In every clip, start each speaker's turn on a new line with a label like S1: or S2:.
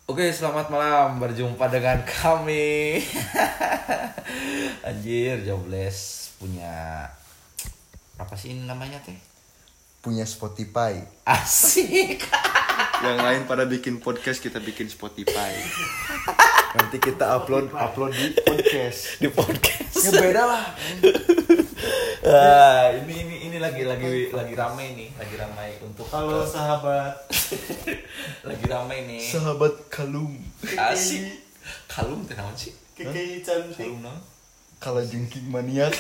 S1: Oke, selamat malam. Berjumpa dengan kami. Anjir, Jobless punya apa sih ini namanya teh?
S2: Punya Spotify.
S1: Asik.
S3: Yang lain pada bikin podcast, kita bikin Spotify.
S2: Nanti kita upload di podcast.
S1: Di podcast.
S2: Ya beda lah.
S1: Ini lagi ramai nih, lagi ramai untuk
S4: Halo sahabat.
S1: lagi ramai nih.
S2: Sahabat kalung.
S1: Asik. Kalung teh naon sih?
S4: Kiki cantik.
S1: Kalung naon?
S2: Kala jengking maniak.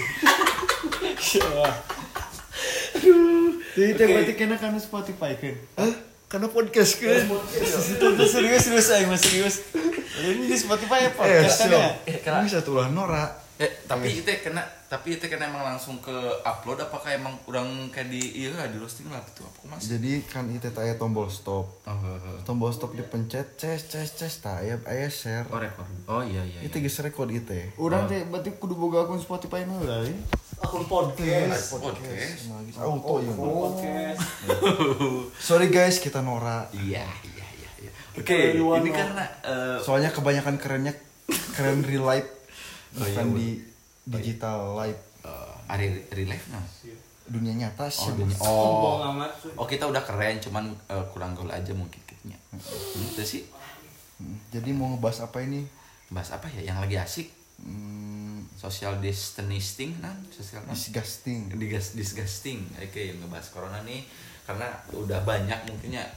S4: Jadi teh berarti kena kan Spotify kan?
S2: Hah? Karena podcast kan.
S4: Serius aing mah serius. Ini di Spotify ya podcast kan ya?
S1: Kena.
S2: Bisa tuh lah Nora.
S1: Tapi itu kena emang langsung ke upload apakah emang kurang kayak di di roasting lah gitu apa mas?
S2: Jadi kan itu aya tombol stop. Tombol stop dipencet ces tah aya share.
S1: Oh record. Oh iya.
S2: Itu geus record itu.
S4: Urang teh berarti kudu boga akun Spotify mah lah. Akun podcast.
S1: Podcast.
S2: Auto ya.
S4: Podcast.
S2: Sorry guys, kita Nora.
S1: Iya. Oke, ini karena
S2: Soalnya kebanyakan keren real life. Bukan di digital live.
S1: real life nah.
S2: Dunia nyata sih.
S4: Sombong amat.
S1: Oh kita udah keren cuman kurang gaul aja mungkin kitanya. Itu sih.
S2: Jadi mau ngebahas apa ini?
S1: Bahas apa ya yang lagi asik? Social distancing
S2: Disgusting.
S1: disgusting. Oke, ngebahas corona nih karena udah banyak mungkinnya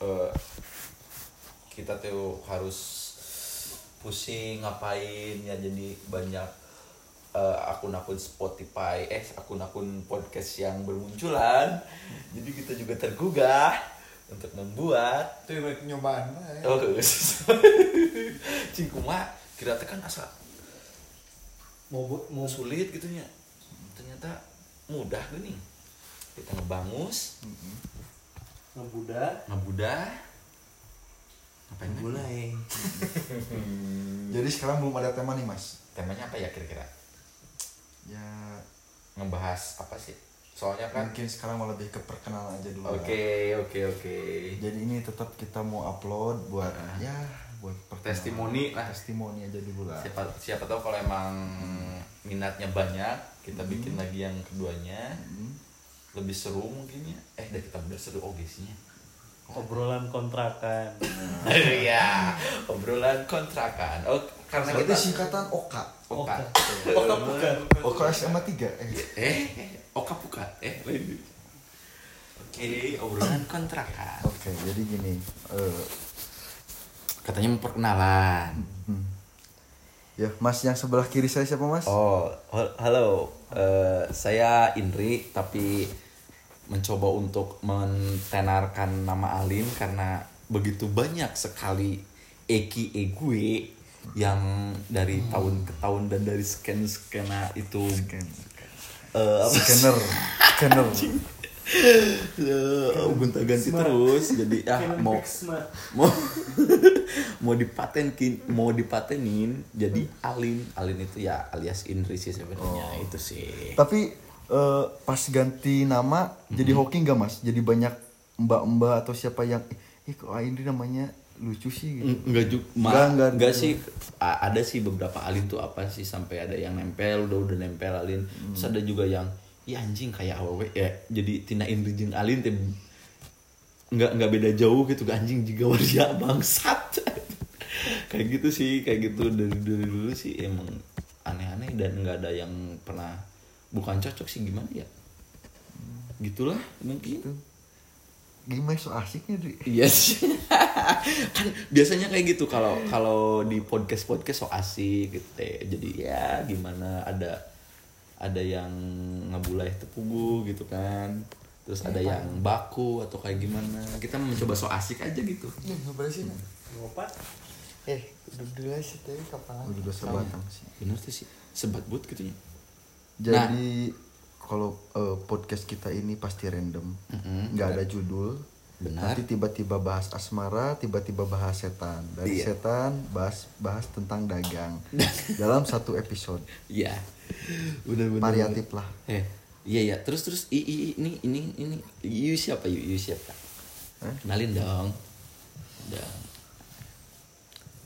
S1: kita tuh harus pusing ngapain ya, jadi banyak akun-akun Spotify, akun-akun podcast yang bermunculan. Jadi kita juga tergugah untuk membuat
S4: Tuh nyobaan mah.
S1: cingkuma kira tekan asa
S4: Mau
S1: sulit gitunya, ternyata mudah gini kita ngebangus
S4: ngebudak.
S1: Ngapain
S4: Mulai.
S2: Jadi sekarang belum ada tema nih mas.
S1: temanya apa ya kira-kira?
S2: Ya
S1: Ngebahas apa sih? Soalnya kan
S2: mungkin sekarang mau lebih ke perkenalan aja dulu.
S1: Oke.
S2: Jadi ini tetap kita mau upload buat buat perkenalan.
S1: Testimoni lah.
S2: Testimoni aja dulu lah.
S1: Siapa tahu kalau emang minatnya banyak, kita bikin lagi yang keduanya. Lebih seru mungkin ya. Dah kita bener seru sihnya.
S4: Obrolan kontrakan.
S1: Iya, obrolan kontrakan. Oh, karena
S2: Itu
S1: kita
S2: singkatan Oka.
S1: Oka.
S4: Oka bukan.
S2: Oka SMA 3.
S1: Oka buka. Oke, obrolan kontrakan.
S2: Oke, jadi gini.
S1: Katanya mau perkenalan.
S2: Ya, Mas yang sebelah kiri saya siapa Mas?
S1: Oh, halo. Saya Indri, tapi mencoba untuk mentenarkan nama Alin karena begitu banyak sekali gue yang dari tahun ke tahun dan dari skena itu
S2: Scanner.
S1: gonta-ganti terus jadi mau dipatenin jadi Alin itu ya alias Indri sih sebenarnya. Itu sih.
S2: Tapi pas ganti nama jadi hoki nggak Mas? Jadi banyak mbak-mbak atau siapa yang kok Indri namanya lucu sih gitu.
S1: Enggak sih. Ada sih beberapa Alin tuh apa sih sampai ada yang nempel udah nempel Alin. Terus ada juga yang anjing kayak awewe ya. Jadi tina Indri jeung Alin teh enggak beda jauh gitu, anjing juga waria bangsat. Kayak gitu sih, kayak gitu dari dulu sih emang aneh-aneh dan enggak ada yang pernah bukan cocok sih, gimana ya? Gitulah mungkin.
S2: Gitu. Gimana so asiknya Dri?
S1: Iya sih. Kan biasanya kayak gitu kalau di podcast so asik gitu teh. Jadi ya gimana ada yang ngebulai tepugu gitu kan. Terus ada yang baku atau kayak gimana. Kita mencoba so asik aja gitu.
S2: Ya, ngobrol sih.
S4: Ngopat.
S2: Duduk dulu sih teh kapan? Udah sebatang sih.
S1: Bener tuh sih. Sebat but gitu ya.
S2: Jadi kalau podcast kita ini pasti random, nggak ada judul.
S1: Benar.
S2: Nanti tiba-tiba bahas asmara, tiba-tiba bahas setan. Dari setan bahas tentang dagang dalam satu episode.
S1: Iya. Benar-benar.
S2: Variatif lah.
S1: Iya. Terus ini siapa? Kenalin dong.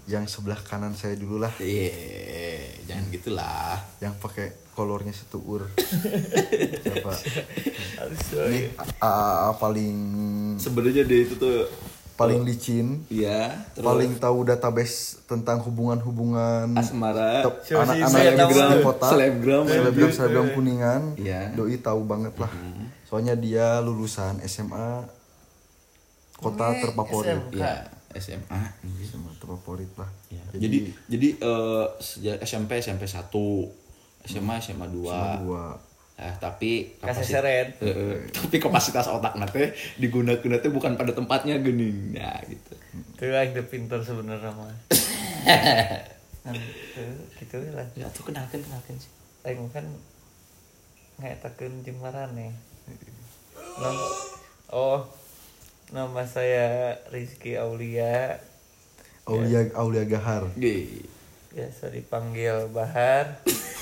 S2: yang sebelah kanan saya dulu lah,
S1: Jangan gitulah.
S2: yang pakai kolornya setuur. Siapa?
S4: Aduh,
S2: Ini paling
S1: Sebenarnya dia itu tuh
S2: paling licin,
S1: iya, terus
S2: paling tahu database tentang hubungan
S1: asmara,
S2: anak-anak di kota,
S1: selebgram
S2: Kuningan.
S1: Iya.
S2: Doi tahu banget lah. Soalnya dia lulusan SMA kota terfavorit.
S1: Iya, SMA.
S2: SMA terfavorit lah.
S1: Ya, jadi sejak SMP 1, SMA 2. Tapi
S4: Kaseseret.
S1: tapi kapasitas otak nate digunakan nate bukan pada tempatnya gening. Ya gitu.
S4: Tuh aing teh pintar sebenarnya mah. Gitu lah.
S1: Ya tuh kenalkan sih.
S4: Aing kan ngetakeun jeung marane. Nama saya Rizky Aulia.
S2: Aulia Gahar.
S4: Biasa dipanggil Bahar.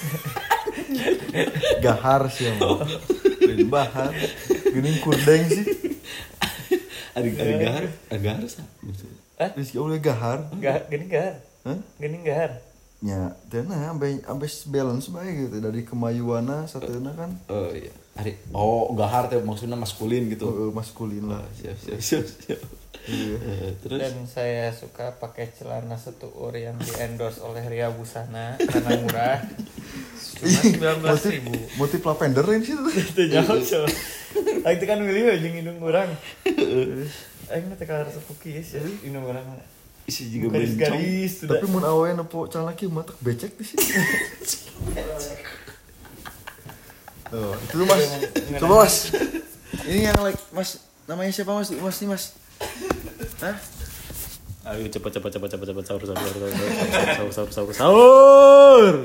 S2: Gahar sih emang. Lain Bahar. Gini kurdeng sih.
S1: Gahar sah.
S2: Rizky Aulia Gahar.
S4: Gini Gahar.
S2: Hah?
S4: Gini Gahar.
S2: Ya, tena ambe balance bae gitu dari kemayuana satena kan.
S1: Iya. Gahar teh maksudnya maskulin gitu.
S2: Maskulin lah.
S1: Siap. Terus
S4: Dan saya suka pakai celana setuur yang di-endorse oleh Ria Busana karena murah. Cuma 19.000.
S2: Motif lavender ini sih.
S4: Itu jauh so. Aing teh kan milih we jeung indung urang. Aing teh ka resep kieu ya indung urang.
S1: isi juga
S4: garis-garis.
S2: Tapi mun awewe nepo calon laki mah tak becek di sini. Oh, itu tuh Mas. Coba Mas. Ini yang like Mas, namanya siapa Mas? Mas nih Mas. Hah?
S5: Ayo cepat sahur.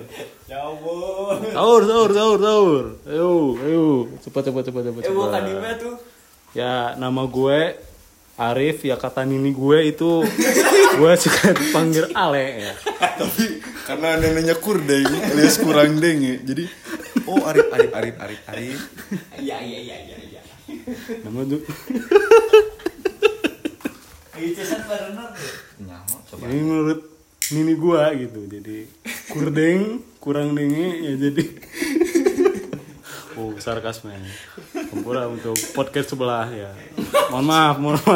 S5: Sahur. Ayo cepat.
S4: Bukan Dima tuh.
S5: Ya nama gue Arif, ya kata nini gue itu gue suka dipanggil Ale ya.
S3: Tapi karena neneknya kurdeng alias kurang deng ya. Jadi Arif.
S1: Iya.
S5: Nama tuh ini menurut nini gue gitu. Jadi kurdeng kurang dengi ya jadi sarkasme. Ampura untuk podcast sebelah ya. Mohon maaf.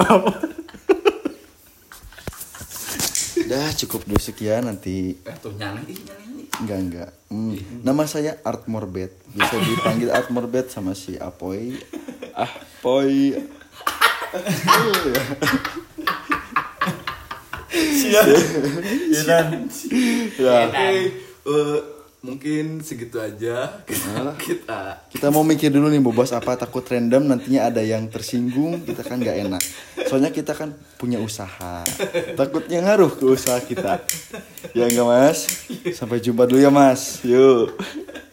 S2: Dah cukup dulu sekian nanti.
S1: Tuh nyanyi.
S2: Enggak. Nama saya Art Morbet. Bisa dipanggil Art Morbet sama si Apoy. Apoy.
S3: Siap.
S2: Ya.
S1: Mungkin segitu aja
S2: Kita mau mikir dulu nih bobas apa, takut random nantinya ada yang tersinggung, kita kan nggak enak. Soalnya kita kan punya usaha, takutnya ngaruh ke usaha kita. Ya enggak Mas? Sampai jumpa dulu ya Mas. Yuk.